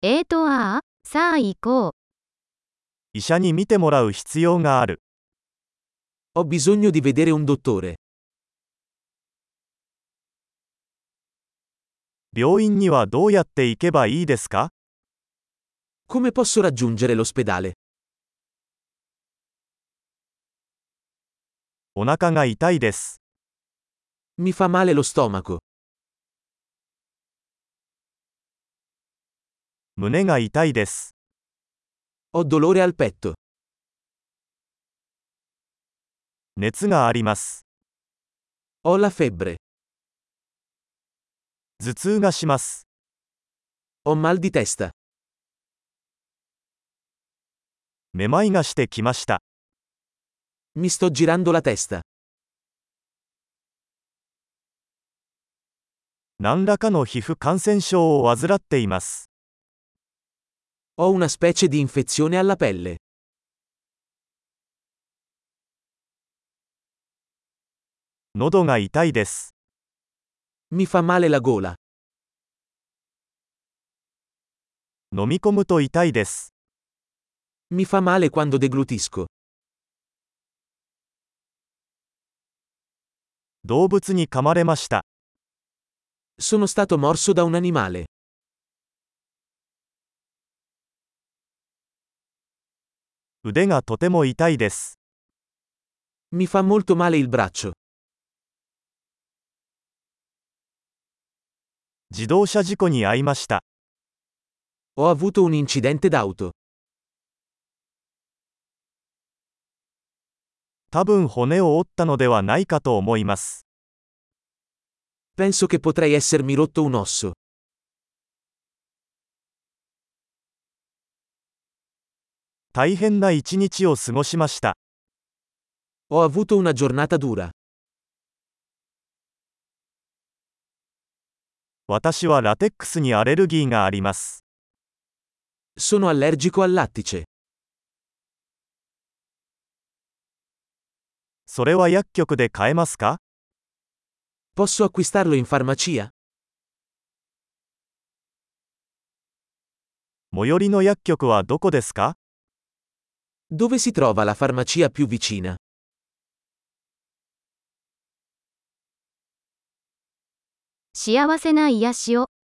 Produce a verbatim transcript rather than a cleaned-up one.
えーとああ、さあ行こう。 医者に診てもらう必要がある。 Ho bisogno di vedere un dottore. 病院にはどうやって行けばいいですか？ Come posso raggiungere l'ospedale? お腹が痛いです。 Mi fa male lo stomaco. 胸が痛いです。 Ho dolore al petto. 熱があります。 Ho la febbre. 頭痛がします。 Ho mal di testa. めまいがしてきました。 Mi sto girando la testa. 何らかの皮膚感染症を患っています。 Ho una specie di infezione alla pelle. 喉が痛いです。 Mi fa male la gola. 飲み込むと痛いです。 Mi fa male quando deglutisco. 動物に噛まれました。 Sono stato morso da un animale. 腕がとても痛いです。 Mi fa molto male il braccio. 自動車事故に遭いました。 Ho avuto un incidente d'auto. 多分骨を折ったのではないかと思います。 Penso che potrei essermi rotto un osso. 大変な一日を過ごしました。 Ho avuto una giornata dura. 私はラテックスにアレルギーがあります。 Sono allergico al lattice. それは薬局で買えますか？ Posso acquistarlo in farmacia? 最寄りの薬局はどこですか？ Dove si trova la farmacia più vicina? 幸せな癒しを。